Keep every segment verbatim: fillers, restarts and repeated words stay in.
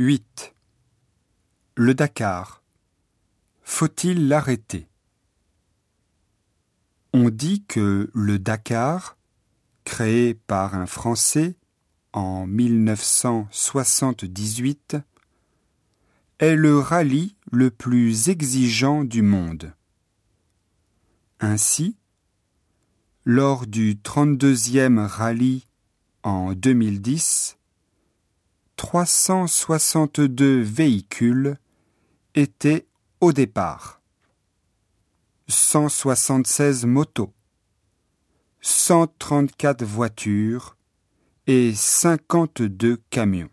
huit. Le Dakar. Faut-il l'arrêter? On dit que le Dakar, créé par un Français en mille neuf cent soixante-dix-huit, est le rallye le plus exigeant du monde. Ainsi, lors du trente-deuxième rallye en deux mille dix, trois cent soixante-deux véhicules étaient au départ, cent soixante-seize motos, cent trente-quatre voitures et cinquante-deux camions.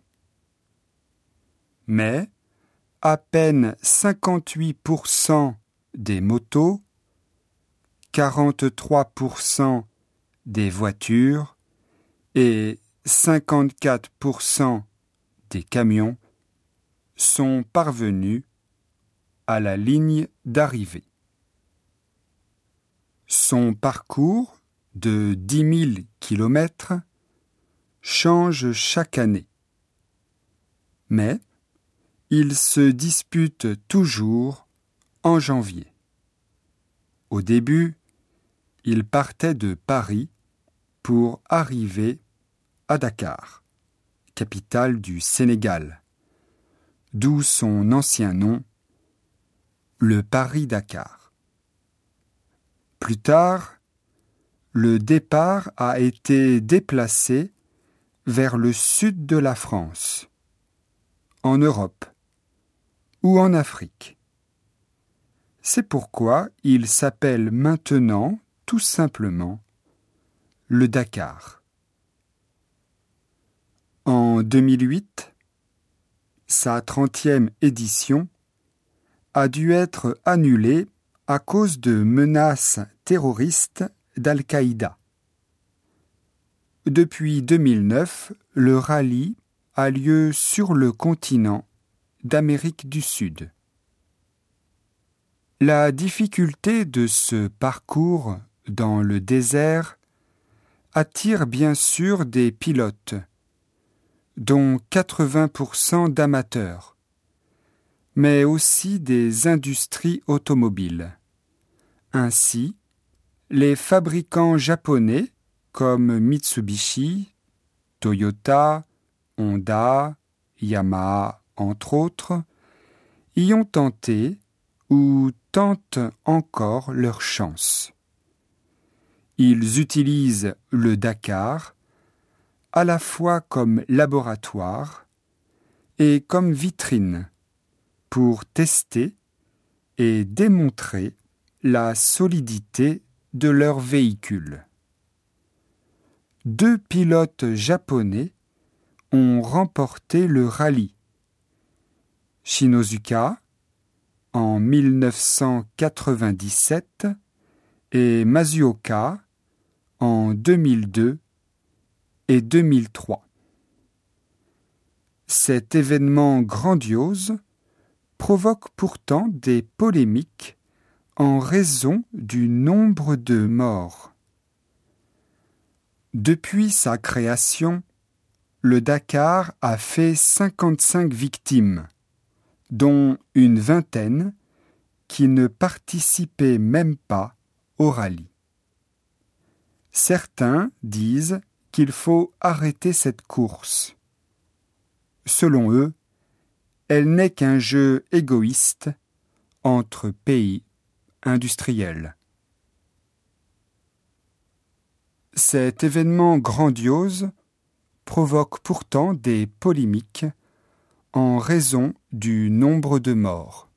Mais à peine cinquante-huit pour cent des motos, quarante-trois pour cent des voitures et cinquante-quatre pour cent des camions sont parvenus à la ligne d'arrivée. Son parcours de dix mille kilomètres change chaque année. Mais il se dispute toujours en janvier. Au début, il partait de Paris pour arriver à Dakar, capitale du Sénégal, d'où son ancien nom, le Paris-Dakar. Plus tard, le départ a été déplacé vers le sud de la France, en Europe ou en Afrique. C'est pourquoi il s'appelle maintenant tout simplement le Dakar. En deux mille huit, sa trentième édition a dû être annulée à cause de menaces terroristes d'Al-Qaïda. Depuis deux mille neuf, le rallye a lieu sur le continent d'Amérique du Sud. La difficulté de ce parcours dans le désert attire bien sûr des pilotes, dont quatre-vingts pour cent d'amateurs, mais aussi des industries automobiles. Ainsi, les fabricants japonais comme Mitsubishi, Toyota, Honda, Yamaha, entre autres, y ont tenté ou tentent encore leur chance. Ils utilisent le Dakar à la fois comme laboratoire et comme vitrine pour tester et démontrer la solidité de leur véhicule. Deux pilotes japonais ont remporté le rallye. Shinozuka en mille neuf cent quatre-vingt-dix-sept et Masuoka en deux mille deux et deux mille trois. Cet événement grandiose provoque pourtant des polémiques en raison du nombre de morts. Depuis sa création, le Dakar a fait cinquante-cinq victimes, dont une vingtaine qui ne participaient même pas au rallye. Certains disent qu'il faut arrêter cette course. Selon eux, elle n'est qu'un jeu égoïste entre pays industriels. Cet événement grandiose provoque pourtant des polémiques en raison du nombre de morts.